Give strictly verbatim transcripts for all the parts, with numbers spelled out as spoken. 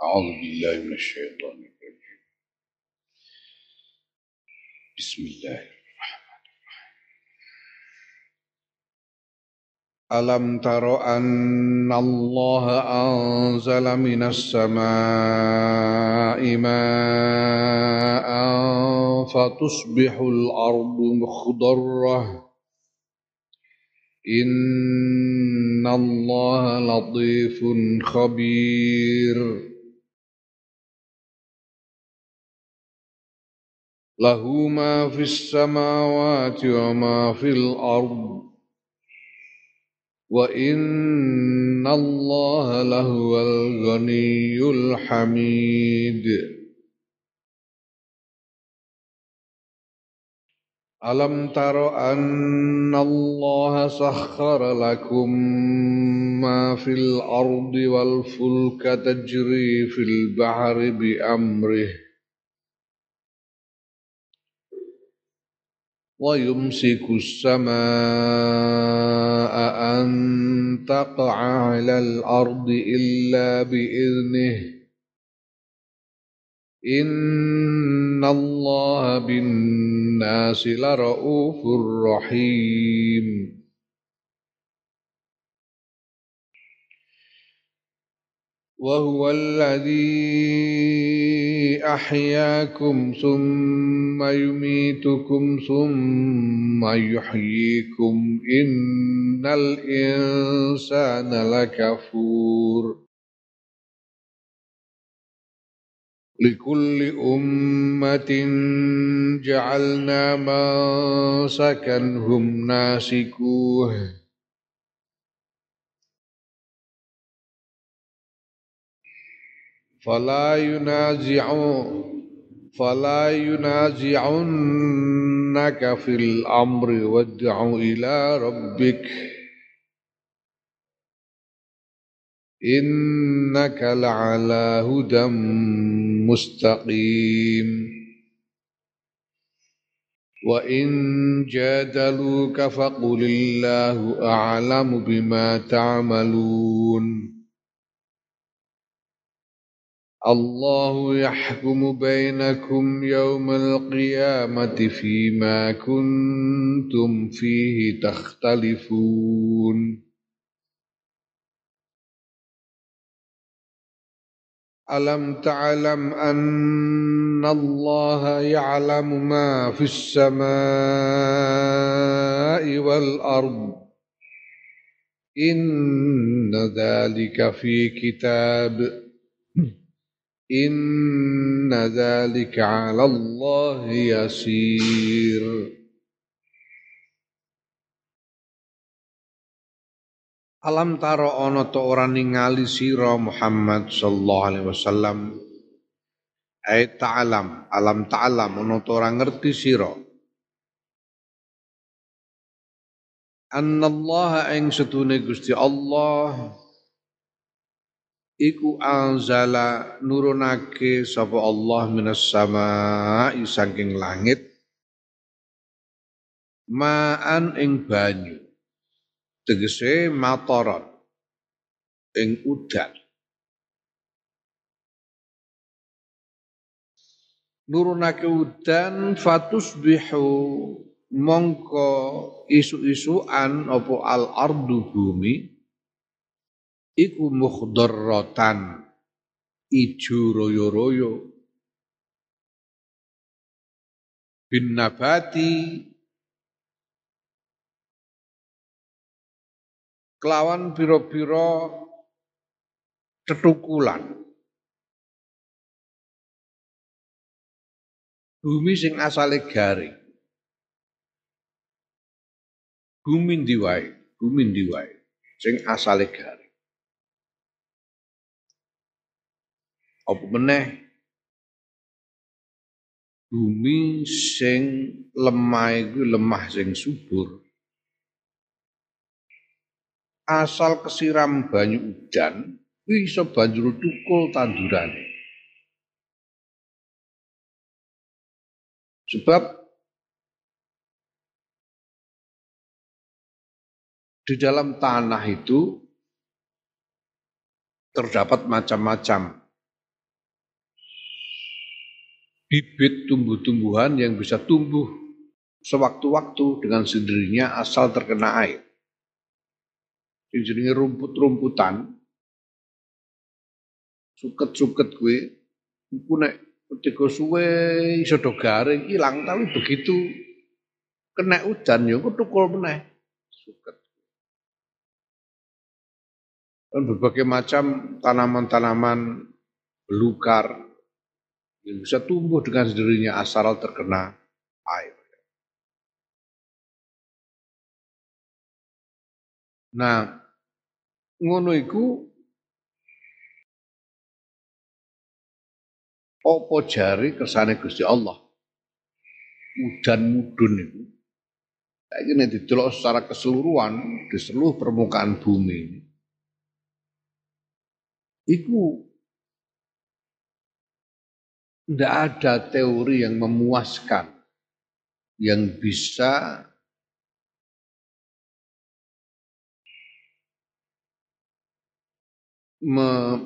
أعوذ بالله من الشيطان الرجيم. بسم الله. ألم تر أن الله أنزل من السماء ماء فتصبح الأرض مخضرة إن الله لطيف خبير له ما في السماوات وما في الأرض وَإِنَّ اللَّهَ لَهُوَ الْغَنِيُّ الْحَمِيدُ. أَلَمْ تَرَ أَنَّ اللَّهَ سَخَّرَ لَكُم مَّا فِي الْأَرْضِ وَالْفُلْكَ تَجْرِي فِي الْبَحْرِ بِأَمْرِهِ وَيُمْسِكُ السَّمَاءَ أَن تَقَعَ عَلَى الْأَرْضِ إِلَّا بِإِذْنِهِ إِنَّ اللَّهَ بِالنَّاسِ لَرَءُوفٌ رَحِيمٌ. وَهُوَ الَّذِي أَحْيَاكُمْ ثُمَّ يُمِيتُكُمْ ثُمَّ يُحْيِيكُمْ إِنَّ الْإِنسَانَ لَكَفُورٌ. لِكُلِّ أُمَّةٍ جَعَلْنَا مَنسَكًا هُمْ نَاسِكُوهُ فَلَا يُنَازِعُ فَلَا يُنَازِعُنَّكَ فِي الْأَمْرِ وَادْعُ إِلَى رَبِّكَ إِنَّكَ لَعَلَى هُدًى مُسْتَقِيمٍ. وَإِن جَادَلُوكَ فَقُلِ اللَّهُ أَعْلَمُ بِمَا تَعْمَلُونَ الله يحكم بينكم يوم القيامة فيما كنتم فيه تختلفون. ألم تعلم أن الله يعلم ما في السماء والأرض إن ذلك في كتاب إن ذلك على الله يسير. Alam taro ana ta ora ningali sira Muhammad sallallahu alaihi wasallam. Ai ta'lam, alam ta'lam ana ta ora ngerti sira. Annallaha ing setune Gusti Allah iku anzala nurunake sapa Allah minas samaa'i saking langit ma'an ing banyu tegese mataron ing udan nurunake udan fatusbihu mongko isu-isuan apa al ardu bumi iku mukhdarratan ijo royo-royo bin nabati kelawan pira-pira tetukulan bumi sing asale garing bumi ndi wae bumi ndi wae sing asale garing apa meneh bumi sing lemah iku lemah sing subur asal kesiram banyu udan kuwi iso banjur tukul tandurane sebab di dalam tanah itu terdapat macam-macam bibit tumbuh-tumbuhan yang bisa tumbuh sewaktu-waktu dengan sendirinya asal terkena air. Yang jenenge rumput-rumputan, suket-suket kuwi iku nek ketika suwe iso do garing ilang, tapi begitu kena udan ya ketukul meneh suket. Dan berbagai macam tanaman-tanaman belukar yang bisa tumbuh dengan sendirinya asal terkena air. Nah, ngono iku apa jari kersane Gusti Allah? Udan mudun itu. Saiki nek didelok secara keseluruhan di seluruh permukaan bumi ini, iku tidak ada teori yang memuaskan yang bisa me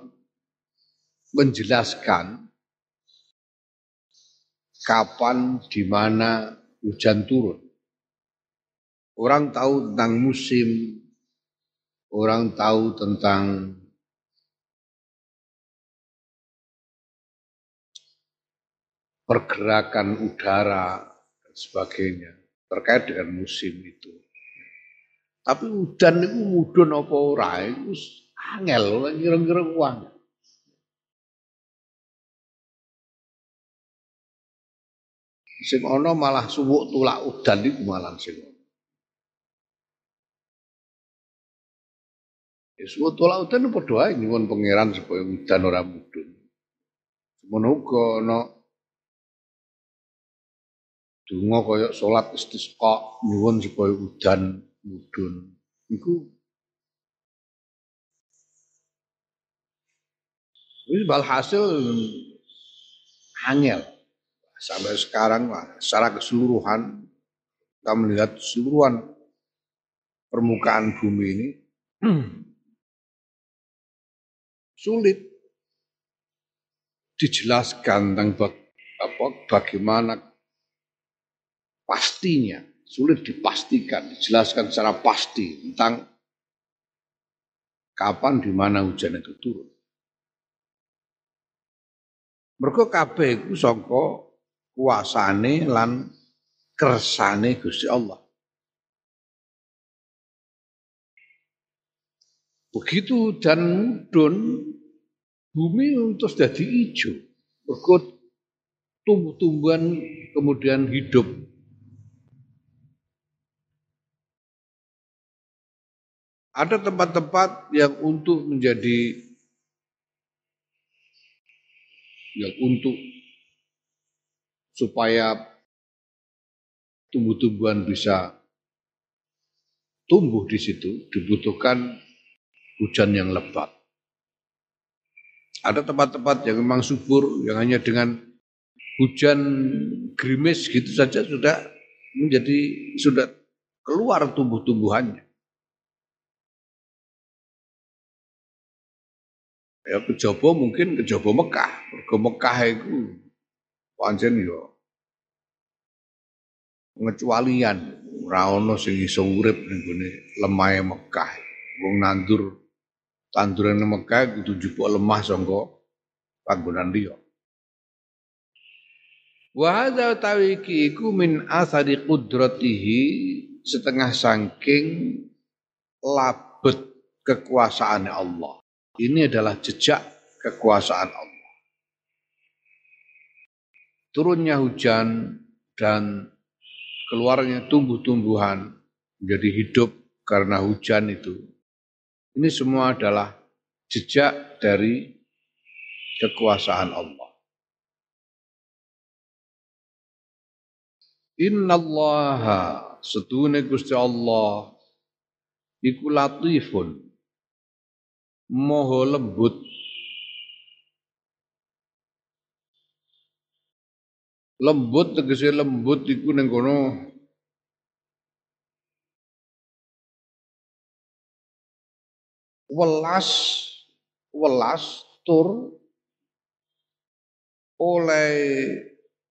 menjelaskan kapan, di mana hujan turun. Orang tahu tentang musim, orang tahu tentang pergerakan udara dan sebagainya terkait dengan musim itu. Tapi udan itu mudun apa ora iku angel kira-kira uang. Sing ana malah suwuk tulak udan iku malah sing ana. Ya suwuk tulak udan padha ae nyuwun pangeran supaya udan ora mudun. Semono uga ana donga kaya salat istisqa nyuwun supaya udan mudun. Iku wis walhasil angel. Sampai sekarang lah, secara keseluruhan kita melihat keseluruhan permukaan bumi ini sulit dijelaskan tentang bag, apa, bagaimana pastinya, sulit dipastikan, dijelaskan secara pasti tentang kapan di mana hujan itu turun. Mergo kabeh iku saka kuasane lan kersane Gusti Allah. Begitu dan mudun bumi terus jadi hijau. Mergo tumbuh-tumbuhan kemudian hidup. Ada tempat-tempat yang untuk menjadi yang untuk supaya tumbuh-tumbuhan bisa tumbuh di situ dibutuhkan hujan yang lebat. Ada tempat-tempat yang memang subur yang hanya dengan hujan gerimis gitu saja sudah menjadi sudah keluar tumbuh-tumbuhannya. Ya kejaba mungkin kejaba Mekah, mergo Mekah itu pancen yo pengecualian, ora ana sing iso urip ning gone lemahe Mekah. Wong nandur tanduran Mekah kudu njupuk lemah sangka panggonan liya. Wa hadza tawiki iku min asari qudratihi setengah saking labet kekuasaan Allah. Ini adalah jejak kekuasaan Allah. Turunnya hujan dan keluarnya tumbuh-tumbuhan menjadi hidup karena hujan itu. Ini semua adalah jejak dari kekuasaan Allah. Innallaha setune Gusti Allah iku latifun moho lembut lembut tegese lembut iku ning kono welas welas tur oleh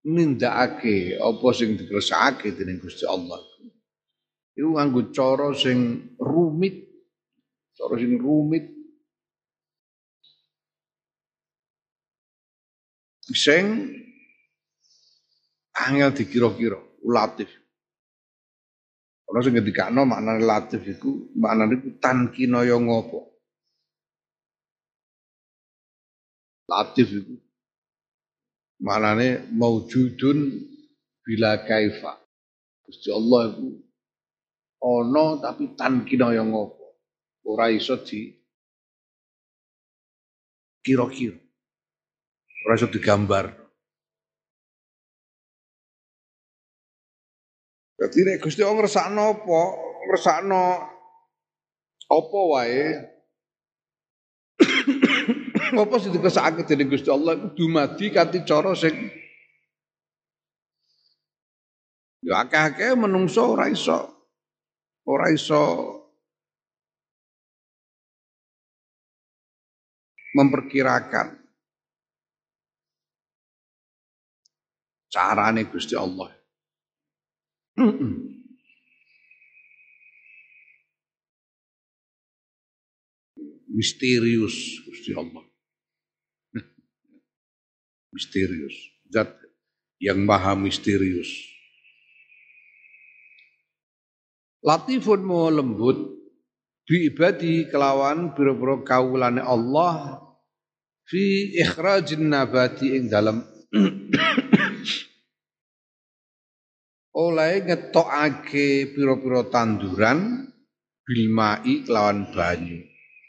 nindakake apa sing dikersakake dening Gusti Allah. Iku nganggo cara sing rumit, cara sing rumit sing angel dikira-kira, latif. Ana sing ngendikano maknane latif iku, maknane iku tankinaya ngopo. Latif iku maknane maujudun bila kaifa. Gusti Allah iku ana tapi tankinaya ngopo. Ora iso di kira-kira. Ora iso digambar. Dadi nek Gusti Allah ngersakno apa, ngersakno apa wae. Apa sing dikersakake dening Gusti Allah iku dumadi kanthi cara sing ya akeh-akeh menungso ora iso ora iso memperkirakan carane Gusti Allah. Misterius Gusti Allah. Misterius. Zat yang maha misterius. Latifun mau lembut bi ibadi kelawan biro-biro kawulane Allah fi ikhrajin nabati ing dalam oleh ngetokake pira-pira tanduran bilmai kelawan banyu.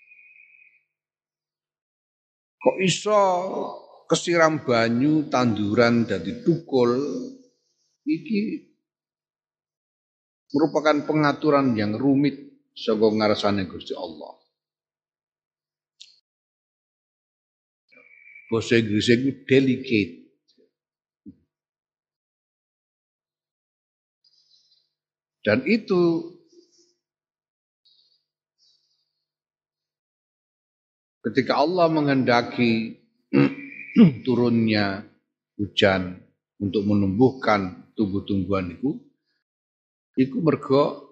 Kok iso kesiram banyu tanduran dadi tukul iki merupakan pengaturan yang rumit saka ngarsane Gusti Allah. Basa Inggris itu delicate. Dan itu ketika Allah menghendaki turunnya hujan untuk menumbuhkan tumbuh-tumbuhan itu, itu mergo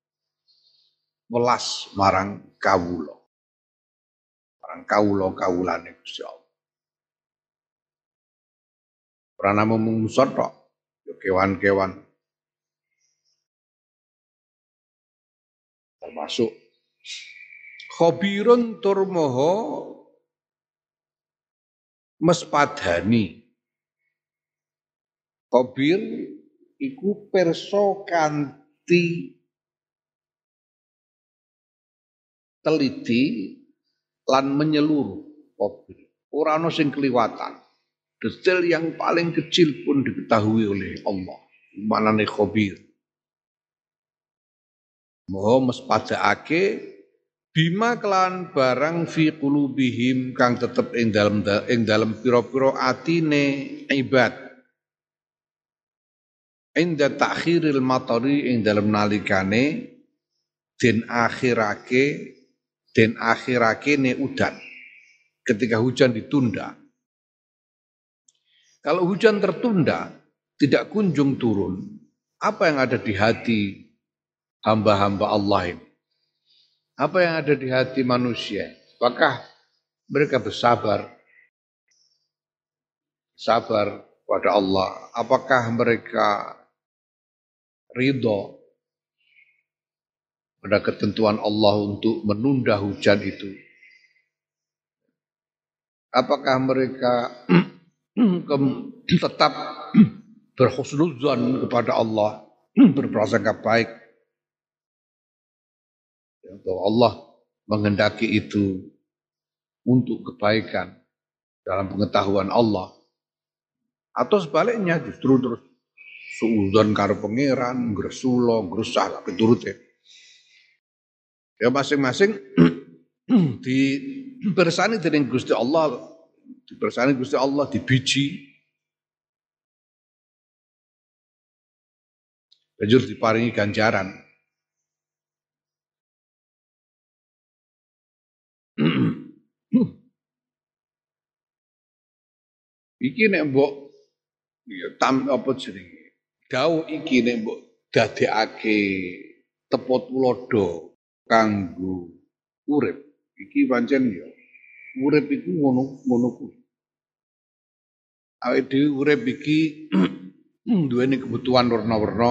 welas marang kawula. Marang kawula-kawulane Gusti Allah. Ora namung manusa tok, ya kewan-kewan. Termasuk khabirun tur maha mespadani. Khabir iku perso kanthi teliti lan menyeluruh khabir. Ora ana sing kliwatan. Detail yang paling kecil pun diketahui oleh Allah. Manane khabir. Maha mespadakake bima kelan barang fi qulubihim kang tetep ing dalem ing dalem pira-pira atine ibad. Inda ta'khiril matari ing dalem nalikane den akhirake den akhirake ne udan. Ketika hujan ditunda. Kalau hujan tertunda, tidak kunjung turun. Apa yang ada di hati hamba-hamba Allah ini? Apa yang ada di hati manusia? Apakah mereka bersabar? Sabar pada Allah. Apakah mereka ridho pada ketentuan Allah untuk menunda hujan itu? Apakah mereka tetap berhusnudzon kepada Allah, berprasangka baik bahwa Allah menghendaki itu untuk kebaikan dalam pengetahuan Allah, atau sebaliknya justru terus suudzon karo pangeran, gresula, grusah kabeh turute. Ya masing-masing dibersani dening Gusti Allah, dibersani Gusti Allah dibiji. Banjur diparingi ganjaran. Iki nek mbok Ya tam apa jenenge? Dawuh iki nek mbok dadekake tepo tulodo kanggo urip. Iki pancen ya urip iku ngono ngono kuwi. Awake dhewe urip iki duweni kebutuhan warna-warna,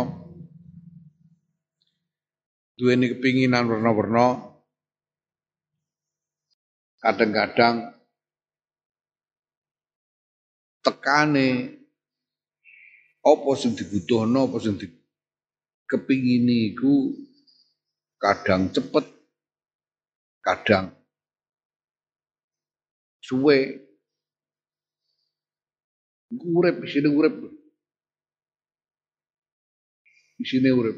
duweni kepinginan warna-warna, kadang-kadang tekane apa sing dibutuhno, apa sing di kepingini iku kadang cepet, kadang suwe. Iku urip isine urip. Isine urip.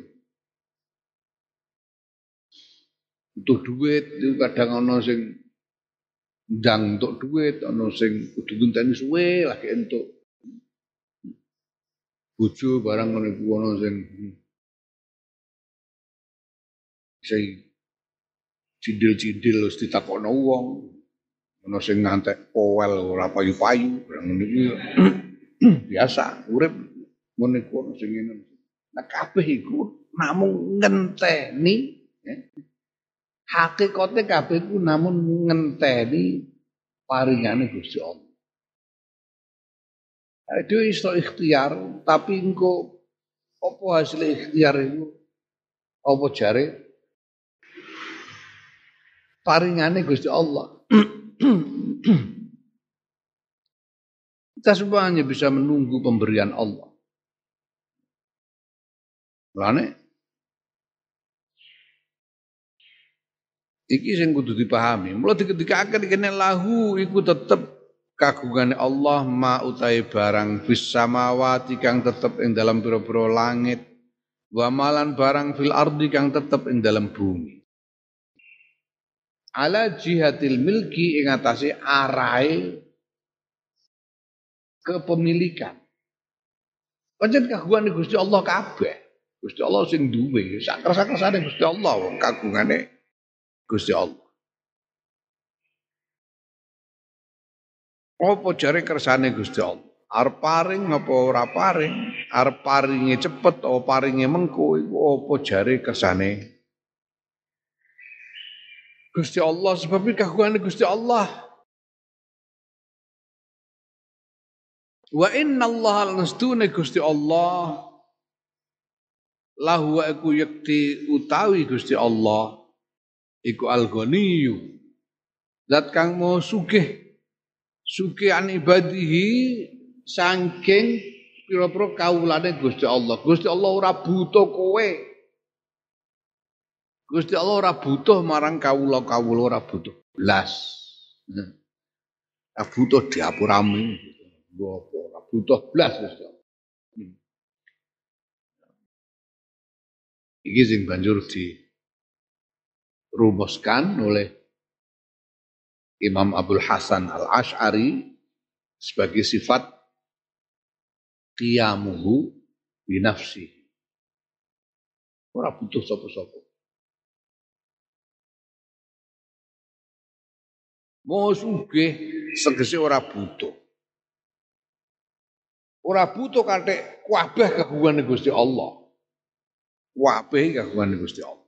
Butuh duit itu kadang ana sing ndang entuk duit, ana sing kudu ngenteni suwe lagi entuk. Bojo barang ngono iku ana sing sing cindil-cindil wis ditakokno wong. Ana sing ngantek powel ora payu-payu, barang ngono iku biasa urip ngono iku ana sing ngene. Nah kabeh iku namung ngenteni ya. Hakikate kabeh iku namun ngenteni paringane Gusti Allah. Itu iso ikhtiar, tapi engko apa hasil ikhtiar itu? Apa jare paringane Gusti Allah. Kita semua hanya bisa menunggu pemberian Allah. Mulane iki sing kudu dipahami. Mula diketikake kene lahu iku tetep kagungane Allah ma utahe barang bis samawati kang tetep ing dalam pira-pira langit wa malan barang fil ardi kang tetep ing dalam bumi. Ala jihatil milki ing atase arahe kepemilikan. Pancen kagungane Gusti Allah kabeh. Gusti Allah sing duwe, sak kersa-kersane Gusti Allah wong kagungane Gusti Allah. Apa jare kersane Gusti Allah? Arep paring apa ora paring? Arep paringe cepet apa paringe mengko iku apa jare kersane Gusti Allah sebab iki kagungane Gusti Allah. Wa inna Allah lanastune Gusti Allah lahu aku yakti utawi Gusti Allah iku al-ghaniyyu zat kang mau sugih sugih an ibadihi saking pira-pira kawulane Gusti Allah. Gusti Allah ora butuh kowe. Gusti Allah ora butuh marang kawula-kawula ora butuh blas. Ora butuh diapurame. Apa ora butuh blas Gusti Allah. Iki sing banjur dirumuskan oleh Imam Abdul Hasan Al-Asy'ari sebagai sifat qiyamuhu bi nafsi. Ora butuh sapa-sapa. Mau sugih segese ora butuh. Ora butuh kathek kabeh kagungane Gusti Allah. Kabeh kagungane Gusti Allah.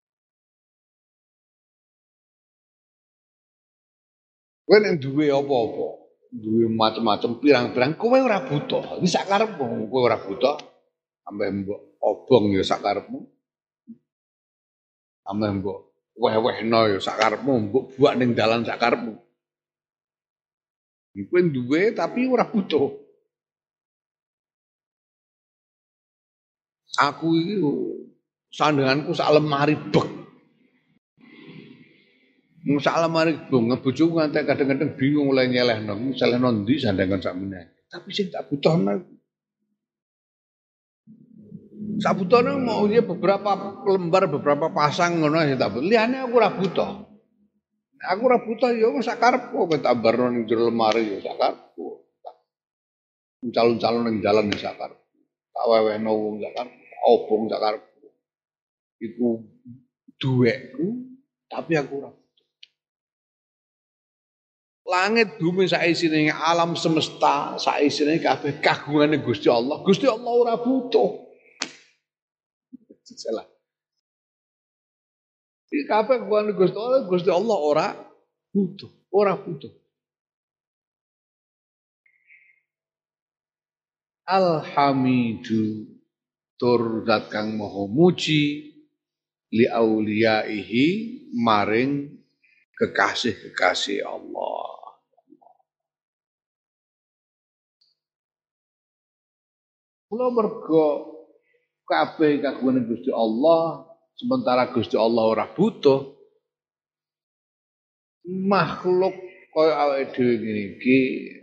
Kowe nek duwe apa-apa, duwe macam-macam pirang-pirang, kowe ora butuh. Iki sak karepmu, kowe ora butuh. Ambek mbok obong ya sak karepmu. Ambek mbok weh-wehno ya sak karepmu, mbok buak ning dalan sak karepmu. Kowe duwe tapi ora butuh. Aku iki sandanganku sak lemari bek. Sak lemari bek, bojoku ngantek kadang-kadang bingung oleh nyelehno, nyelehno ndi sandangan sakmene. Tapi sing tak butuhno sak butuhno mau ya beberapa lembar, beberapa pasang ngono ya tak. Liyane aku ora butuh. Aku ora butuh ya wis sak karepku kowe tak barno ning jero lemari ya sak karepku. Calon-calon ning dalan ya sak karepku. Tak wewehno wong sak karepku, obong sak karepku. Iku duwekku tapi aku ora Langit bumi saisine alam semesta saisine kabeh kagungane Gusti Allah. Gusti Allah ora butuh. Salah. Iki kabeh kagungane Gusti Allah, Gusti Allah ora butuh, ora butuh. Alhamidu tur zat kang maha muji li auliyaihi maring kekasih-kekasih Allah. Kula mergo kabeh kagungane Gusti Allah, sementara Gusti Allah ora butuh makhluk kaya awake dhewe ngene iki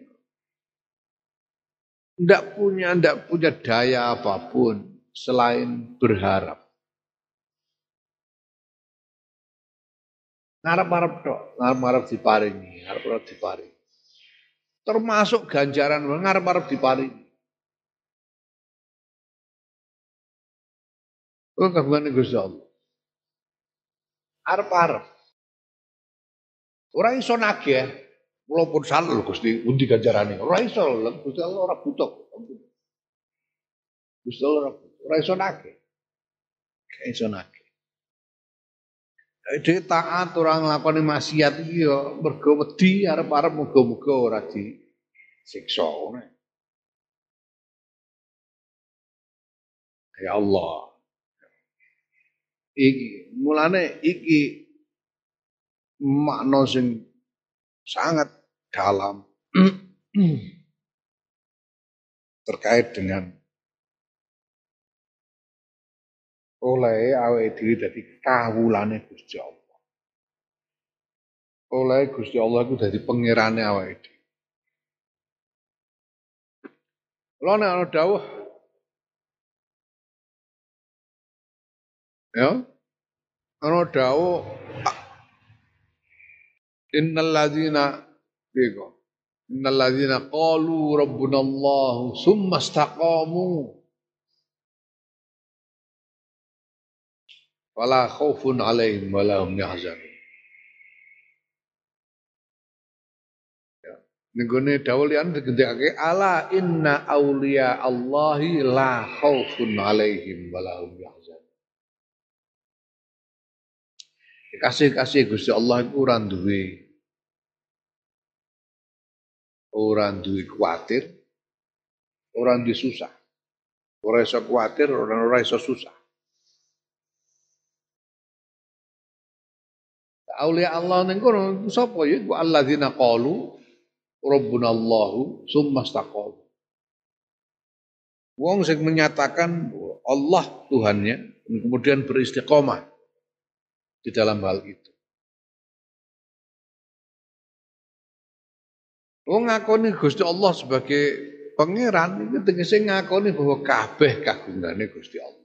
ndak punya ndak punya daya apapun selain berharap. Ngarep-arep tok, ngarep-arep diparingi, ngarep-arep diparingi. Termasuk ganjaran ngarep-arep diparingi. Kuwi kagungane Gusti Allah. Arep-arep. Ora iso nagih. Kula pun salah lho Gusti, pundi ganjarane? Ora iso lho, Gusti Allah ora butuh. Gusti Allah ora butuh. Ora iso nagih. Ora iso nagih. Dhewe taat ora nglakoni maksiat iki ya mergo wedi arep-arep muga-muga ora disiksa ngono. Ya Allah. Iki mulane iki makna sing sangat dalam terkait dengan oleh awake dhewe dadi kawulane Gusti Allah. Oleh Gusti Allah iku dadi pangerane awake dhewe. Lha nek ana dawuh ya, ana dawuh innal ladzina bego innal ladzina qalu rabbunallahu tsumma istaqamu wala khaufun alaihim wala hum yahzanun. Nenggone dawuh liyan digendhekake ala inna auliya Allahi la khaufun alaihim wala hum yahzanun. Kasih-kasih Gusti Allah iku ora duwe ora duwe kuwatir, ora duwe susah. Ora iso kuwatir, ora ora iso susah. Aulia Allah ning kono sapa ya iku alladzina qalu rabbunallahu tsumma istaqamu. Wong sing menyatakan Allah Tuhannya kemudian beristiqomah di dalam hal itu. Wong ngakoni Gusti Allah sebagai pangeran itu tegese ngakoni bahwa kabeh kagungane Gusti Allah.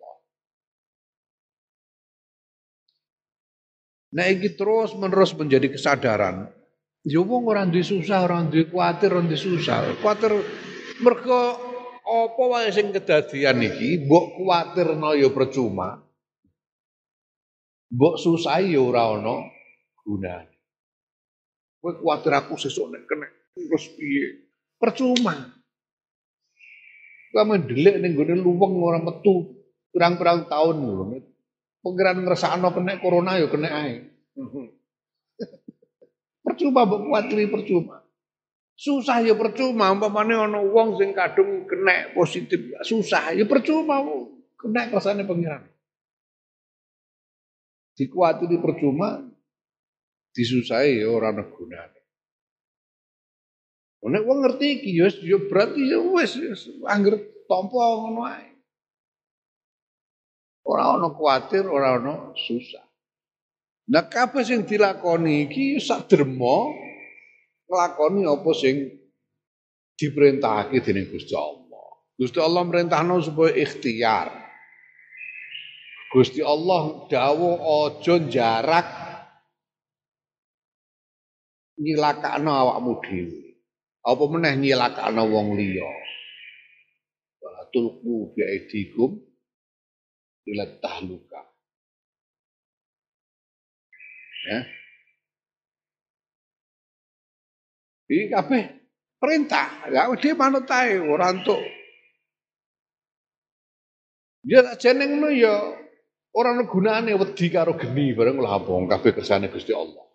Nah iki terus menerus menjadi kesadaran. Ya wong ora duwe susah, ora duwe kuwatir, ora duwe susah. Kuwatir mergo apa wae sing kedadian iki mbok kuwatirno ya percuma. Mbok susah ya ora ana gunane. Kowe kuwatir aku sesuk nek kena terus piye? Percuma. Kamu ndelik ning gone luweng ora metu pirang-pirang tahun lho. Pengiran ngrasakno kena corona ya kena ae. Percuma mbok kuwatiri percuma. Susah ya percuma umpamane ana wong sing kadung kena positif susah ya percuma kena kersane pengiran. Dikuwatiri percuma disusahi ya ora ana gunane. Nek wong ngerti iki ya ya berarti ya wis anggere tampa ngono ae. Ora ana kuwatir, ora ana susah. Nah kabeh sing dilakoni iki sak derma nglakoni apa sing diperintahake dening Gusti Allah. Gusti Allah merintahno supaya ikhtiar. Gusti Allah dawuh aja jarak nyilakakno awakmu dhewe. Apa meneh nyilakakno wong liya. Wa tulqu bi aidikum ila tahluka. Ya. Iki kabeh perintah. Ya dia manut ae ora entuk. Ya tak jenengno ya ora ana gunane wedi karo geni bareng lha apa kabeh kersane Gusti Allah.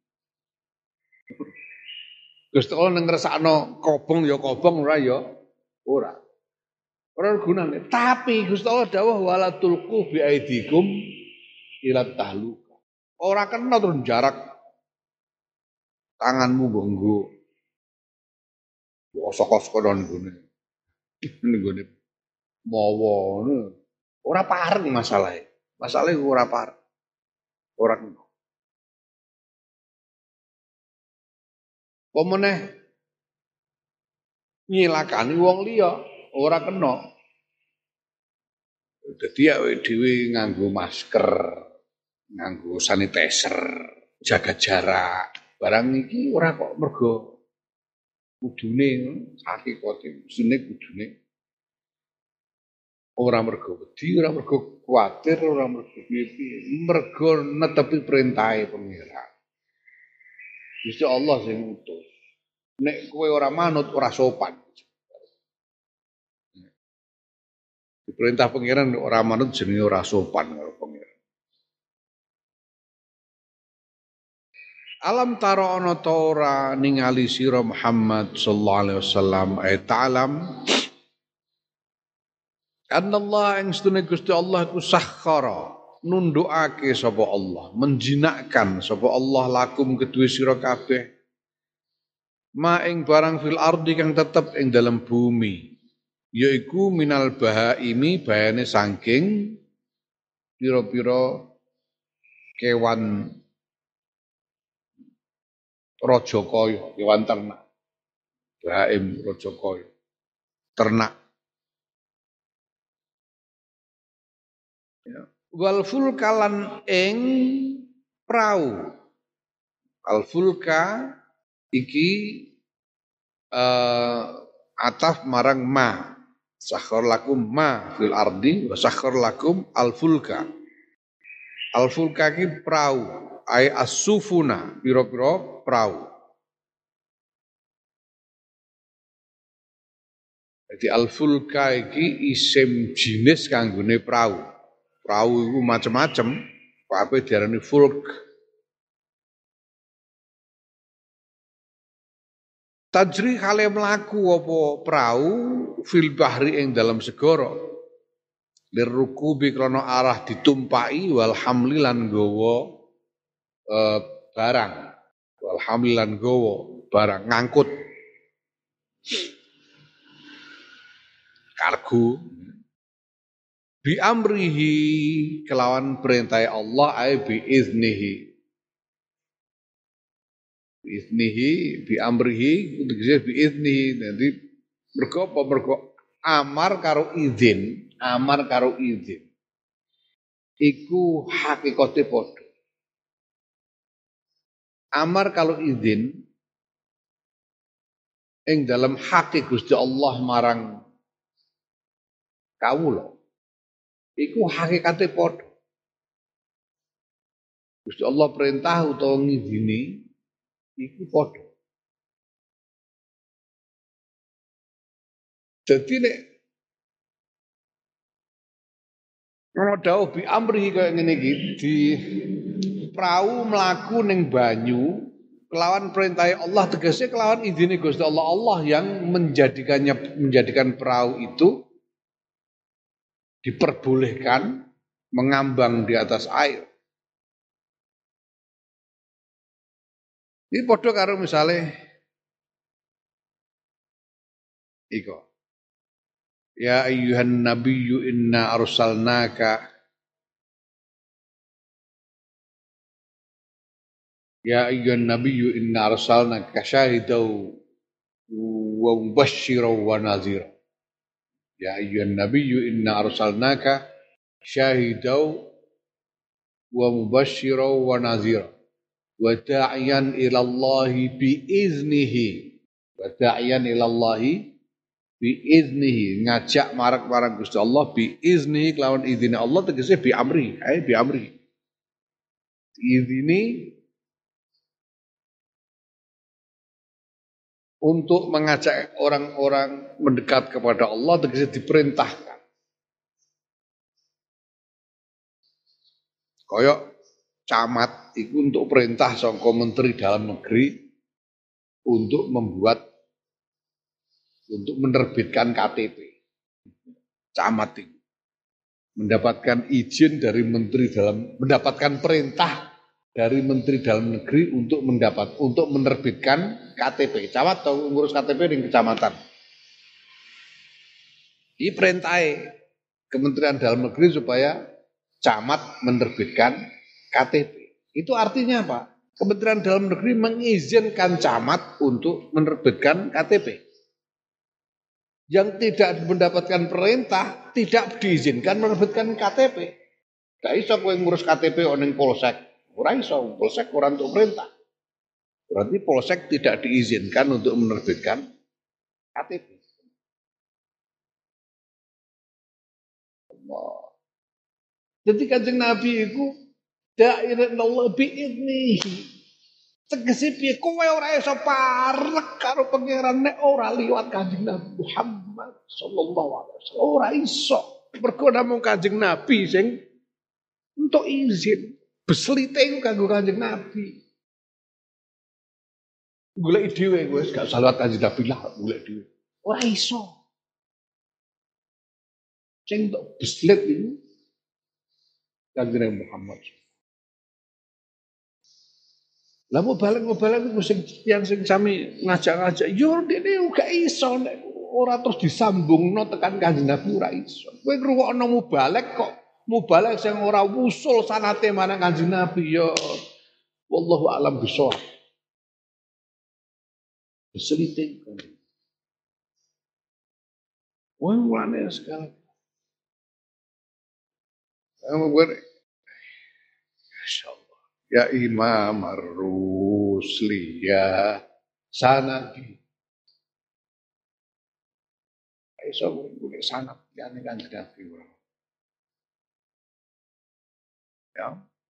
Gusti Allah ning ngrasakno kobong ya kobong ora ya ora. Ora ana gunane. Tapi Gusti Allah dawuh wala tulqu bi aidikum ila tahluka. Ora kena terus jarak tanganmu mbok nggo saka-saka nang gone. Ning gone mawa ngono. Ora pareng masalahe. Masalahe ora pareng. Ora kena. Pemeneh nyilakani wong liya ora kena. Dadi awake dhewe nganggo masker, nganggo sanitizer, jaga jarak. Barang iki ora kok mergo kudune hakikate mestine kudune ora mergo wedi, ora mergo kuwatir, ora mergo piye-piye, mergo netepi perintahe pengira. Gusti Allah sing ngutus. Nek kowe ora manut ora sopan. Perintah pengiran ora manut jenenge ora sopan karo pengiran. Alam tara ana ta ora ningali sira Muhammad sallallahu alaihi wasallam ay ta'lam annallaha ing sedune Gusti Allah iku sakhara nundukake sapa Allah menjinakkan sapa Allah lakum kedue sira kabeh ma ing barang fil ardi kang tetep ing dalam bumi yaiku minal bahaimi bayane saking pira-pira kewan raja kaya, kewan ternak. Bahaim raja kaya. Ternak. Ya. Wal fulkalan ing prau. Al fulka iki uh, ataf marang ma. Sakhar lakum ma fil ardi wa sakhar lakum al fulka. Al fulka ki prau. Ai as-sufuna pira-pira prau. Jadi al-fulka iki isim jinis kanggone prau. Prau iku macam-macam, kabeh diarani fulk. Tajri kale mlaku apa prau fil bahri ing dalam segara. Lirukubi krana arah ditumpaki wal hamli lan gawa Uh, barang alhamdulillah gowo barang ngangkut kargo bi amrihi kelawan perintah Allah ay bi iznihi bi iznihi bi amrihi tegese bi iznihi nanti mergo apa mergo amar karo izin amar karo izin iku hakikate padha. Amar kalau izin ing dalam hak Gusti Allah marang kawula iku hakikate padha. Gusti Allah perintah utawa ngizini iku padha. Dadi nek ana dawuh bi amri kaya ngene iki di prau mlaku ning banyu kelawan perintah Allah tegese kelawan izine Gusti Allah Allah yang menjadikannya menjadikan perahu itu diperbolehkan mengambang di atas air. Ini padha karo misale iko. Ya ayyuhan nabiyyu inna arsalnaka Ya ayyuhan nabiyyu inna arsalnaka syahidan wa mubasysyiran wa nadhira. Ya ayyuhan nabiyyu inna arsalnaka syahidan wa mubasysyiran wa nadhira wa da'iyan ila Allah bi iznihi wa da'iyan ila Allah bi iznihi ngajak marang-marang Gusti Allah bi iznihi kelawan izine Allah tegese bi amri ae bi amri izini untuk mengajak orang-orang mendekat kepada Allah tegese diperintahkan. Koyok camat itu untuk perintah saka Menteri Dalam Negeri untuk membuat untuk menerbitkan K T P. Camat itu mendapatkan izin dari Menteri Dalam mendapatkan perintah dari Menteri Dalam Negeri untuk mendapat untuk menerbitkan K T P. Camat atau ngurus K T P di kecamatan. Ini perintah Kementerian Dalam Negeri supaya camat menerbitkan K T P. Itu artinya apa? Kementerian Dalam Negeri mengizinkan camat untuk menerbitkan K T P. Yang tidak mendapatkan perintah tidak diizinkan menerbitkan K T P. Gak iso kowe ngurus K T P oneng polsek. Ora iso, polsek ora untuk perintah. Berarti polsek tidak diizinkan untuk menerbitkan K T P. Allah. Jadi Kanjeng Nabi itu da'irat Allah bi'idnihi. Tegese piye kowe ora iso parek karo pangeran nek ora liwat Kanjeng Nabi Muhammad sallallahu alaihi wasallam. Ora iso. Mergo namung Kanjeng Nabi sing entuk izin. Beslite iku kanggo Kanjeng Nabi. Golek dhewe wis gak usah liwat Kanjeng Nabi lah, golek dhewe. Ora iso. Sing entuk beslit iku Kanjeng Muhammad. Lah mau balik mau balik itu sing yang sing sami ngajak-ngajak, yo dene gak iso nek ora terus disambungno tekan Kanjeng Nabi ora iso. Kowe ngrungokno mubalek kok mubalek sing ora wusul sanate marang Kanjeng Nabi yo wallahu alam bisawab. Keselite kan. Wong wane sekali. Kamu gue, insyaallah. Ya Imam Ar-Rusli ya sanadi. Iso gue sanad yani Kanjeng Nabi ora. Ya.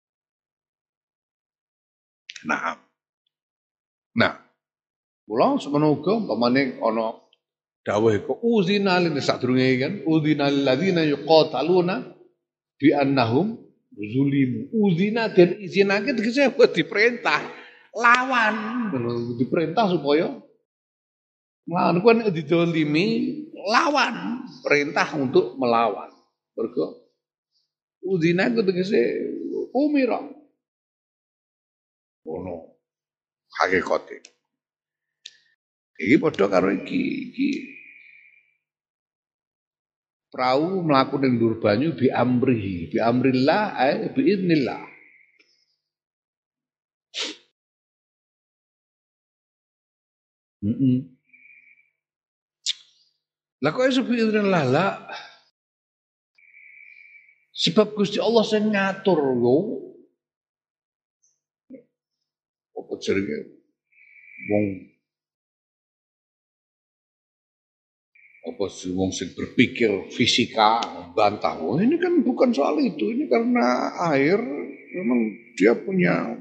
Nah. Nah. Kula semono uga umpamane ana dawuh iku uzina lin sadurunge kan uzina lil ladzina yuqataluna bi annahum zulimu. Uzina dan izinake tegese diperintah lawan, diperintah supaya melawan kuwi nek didolimi lawan, perintah untuk melawan. Mergo uzina ku tegese umira. Ono hakikate. Iki padha karo iki iki perahu melaku ning dhuwur banyu bi amrihi, bi amrillah ay bi idznillah. Heeh. Lah kok iso bi idznillah lah? Sebab Gusti Allah sing ngatur lho. Apa jenenge? Wong apa sih wong sing berpikir fisika bantah, oh, ini kan bukan soal itu, ini karena air memang dia punya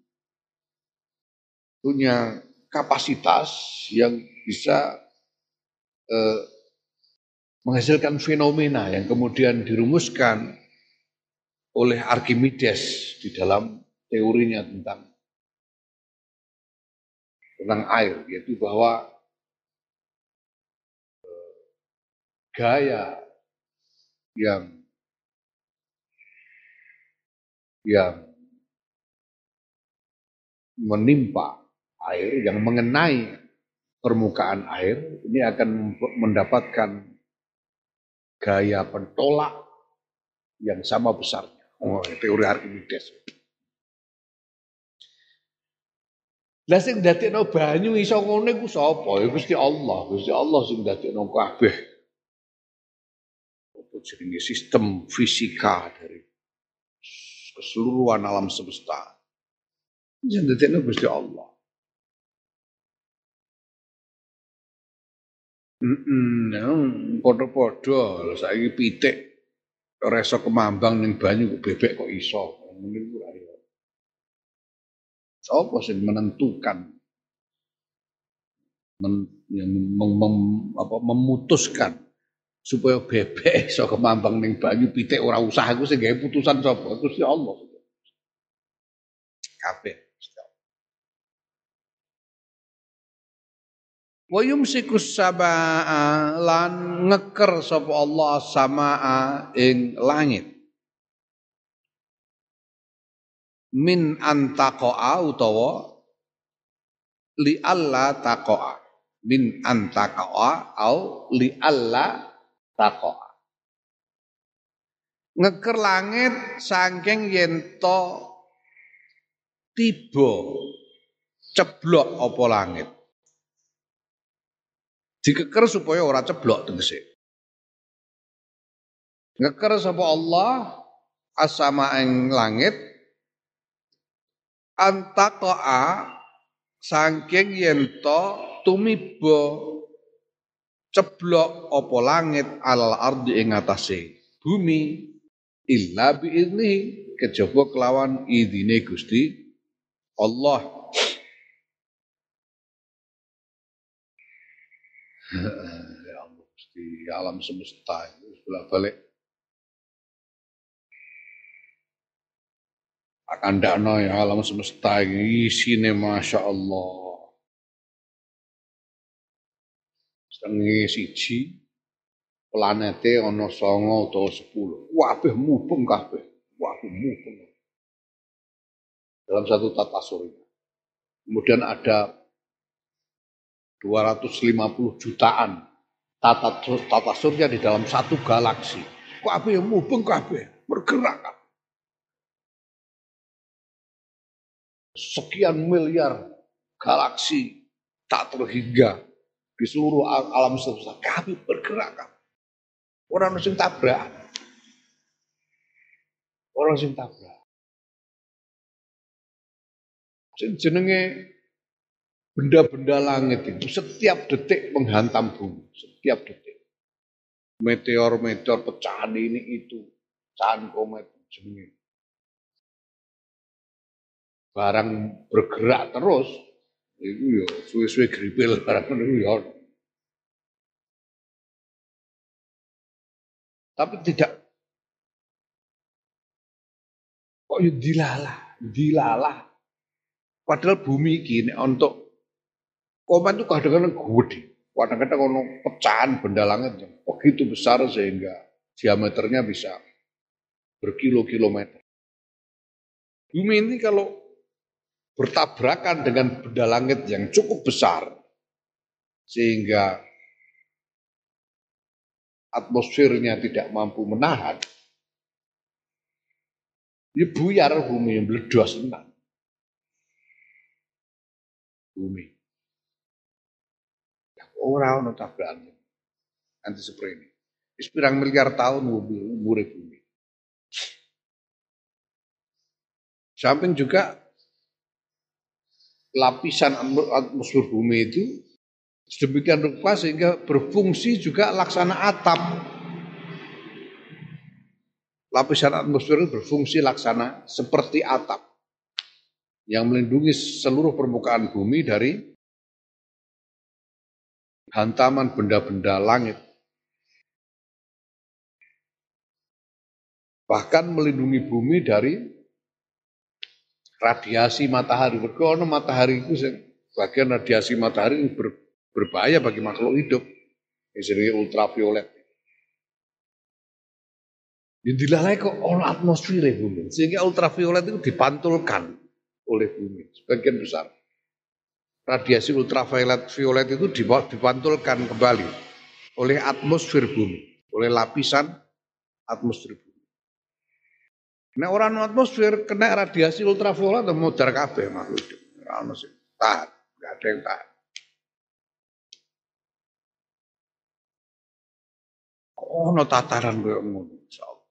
punya kapasitas yang bisa eh, menghasilkan fenomena yang kemudian dirumuskan oleh Archimedes di dalam teorinya tentang tentang air, yaitu bahwa gaya yang yang menimpa air, yang mengenai permukaan air, ini akan mendapatkan gaya pentolak yang sama besarnya. Oh, teori Archimedes. Lah sing ndadekno banyu iso ngono iku sapa? Ya Gusti Allah, Gusti Allah sing ndadekno kabeh. Jenenge sistem fisika dari keseluruhan alam semesta. Sing ndadekno Gusti Allah. Heeh, padha-padha lho saiki pitik ora iso kemambang ning banyu bebek kok iso. Ngene iku ora iso. Sapa sing menentukan men, yang mem, mem, apa, memutuskan supaya bebek iso kemambang ning banyu pitik ora usah aku sing gawe putusan sapa Gusti Allah kabeh. Wa yumsikus samaa lan ngeker sapa Allah samaa ing langit min antaqaa utawa li alla taqaa min antaqaa au li alla taqaa ngeker langit saking yen to tiba ceblok apa langit dikeker supaya ora ceblok tegese ngeker sapa Allah asama ing langit antaqaa saking yen to tumiba ceblok apa langit alal ardi ing atase bumi illa biizni kejaba kelawan idine Gusti Allah. Ya Allah Gusti alam semesta itu bolak-balik akan ndakno ya alam semesta iki isine Masya Allah. Setengah siji planete ana songo utawa sepuluh. Kabeh mubeng kabeh. Kabeh mubeng. Dalam satu tata surya. Kemudian ada dua ratus lima puluh jutaan tata, tata surya di dalam satu galaksi. Kabeh mubeng kabeh, bergerak kabeh. Sekian miliar galaksi tak terhingga di seluruh alam semesta kabeh bergerak kabeh. Orang sing tabrak. Orang sing tabrak. Sing jenenge benda-benda langit itu setiap detik menghantam bumi, setiap detik. Meteor-meteor pecahan ini itu, pecahan komet jenenge. Barang bergerak terus, itu ya suwe-suwe gripil barang itu ya. Tapi tidak kok ya dilalah, dilalah. Padahal bumi ini untuk komet itu kadang-kadang gede. Kadang-kadang ono pecahan benda langit yang begitu besar sehingga diameternya bisa berkilo-kilometer. Bumi ini kalau bertabrakan dengan benda langit yang cukup besar sehingga atmosfernya tidak mampu menahan, ya buyar bumi yang meledos tenan. Bumi. Ora ono tabrakan. Nanti seperti ini. Sepirang miliar tahun umur bumi. Samping juga lapisan atmosfer bumi itu sedemikian rupa sehingga berfungsi juga laksana atap. Lapisan atmosfer itu berfungsi laksana seperti atap yang melindungi seluruh permukaan bumi dari hantaman benda-benda langit. Bahkan melindungi bumi dari radiasi matahari. Karena matahari itu bagian radiasi matahari yang ber, berbahaya bagi makhluk hidup. Yang ultraviolet. Yang dilalai kok oleh atmosfer bumi. Sehingga ultraviolet itu dipantulkan oleh bumi. Sebagian besar. Radiasi ultraviolet violet itu dipantulkan kembali oleh atmosfer bumi. Oleh lapisan atmosfer bumi. Nek ora ono atmosfer kena radiasi ultraviolet modar kabeh makhluk hidup. Ora ono sing tahan, enggak ada yang tahan. Ono tataran koyo ngono insyaallah.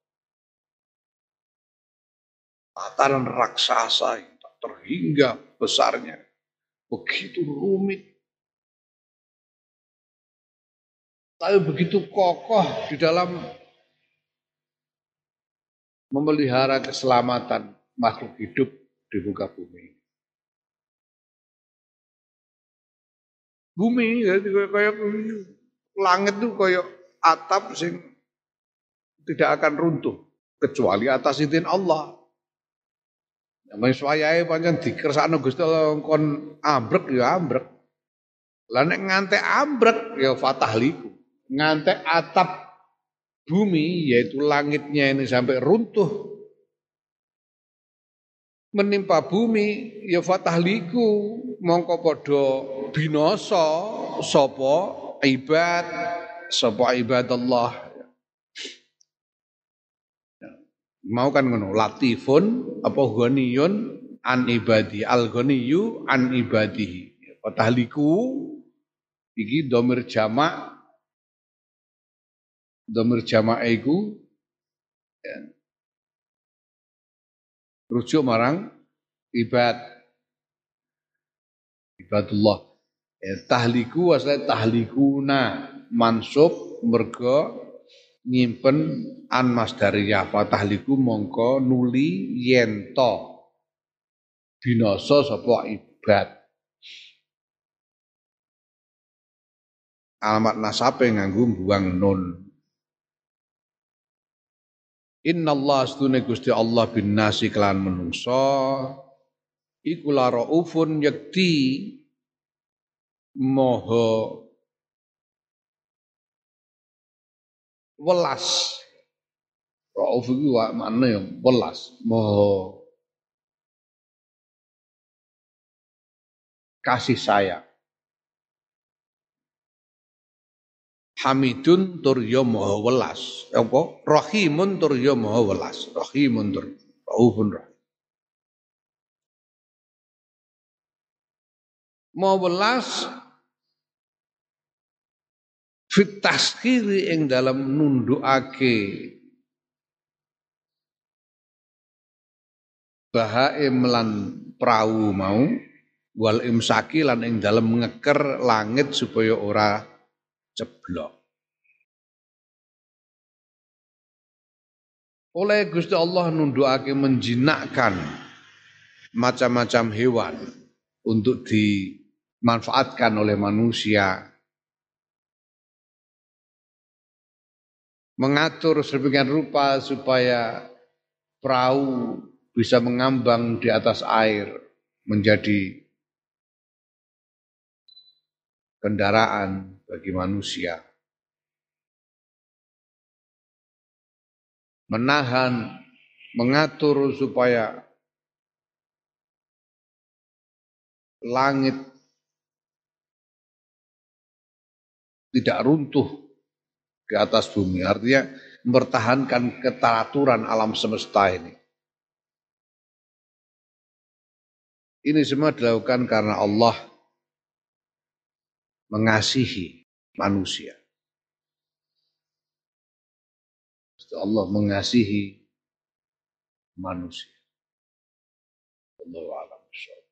Tataran raksasa yang tak terhingga besarnya. Begitu rumit. Tapi begitu kokoh di dalam memelihara keselamatan makhluk hidup di muka bumi. bumi jadi kayak langit tuh kayak atap sing tidak akan runtuh kecuali atas izin Allah. Yang swayahe pancen dikersakno Gusti Allah kon ambrek ya ambrek. Lah nek ngantek ambrek ya fatahliku. Ngantek atap bumi yaitu langitnya ini sampai runtuh menimpa bumi ya fatahliku mongko padha binasa sapa ibad sapa ibadallah. Mau kan ngono latifun apa ghaniyun an ibadi al ghaniyu an ibadihi fatahliku iki domir jamak domir jamak iku ya, rujuk marang ibad ibadullah ya, tahliku asale tahlikuna mansub mergo nyimpen an masdariyah fatahliku mongko nuli yento binasa sapa ibad. Alamat nasabe nganggo buang nun. Innallaha astune Gusti Allah bin nasi kelan menungso iku la raufun yakti moho welas. Rauf iku maknane ya welas, moho kasih sayang. Hamidun tur ya maha welas. Apa? Rahimun tur ya maha welas. Rahimun tur raufun rahim. Maha welas fit taskhiri ing dalam nundukake bahaim lan prau mau wal imsaki lan ing dalam ngeker langit supaya ora ceblok. Oleh Gusti Allah nundukake menjinakkan macam-macam hewan untuk dimanfaatkan oleh manusia. Mengatur sedemikian rupa supaya perahu bisa mengambang di atas air menjadi kendaraan bagi manusia. Menahan, mengatur supaya langit tidak runtuh di atas bumi. Artinya mempertahankan keteraturan alam semesta ini. Ini semua dilakukan karena Allah mengasihi manusia. Allah mengasihi manusia. Allahu a'lam.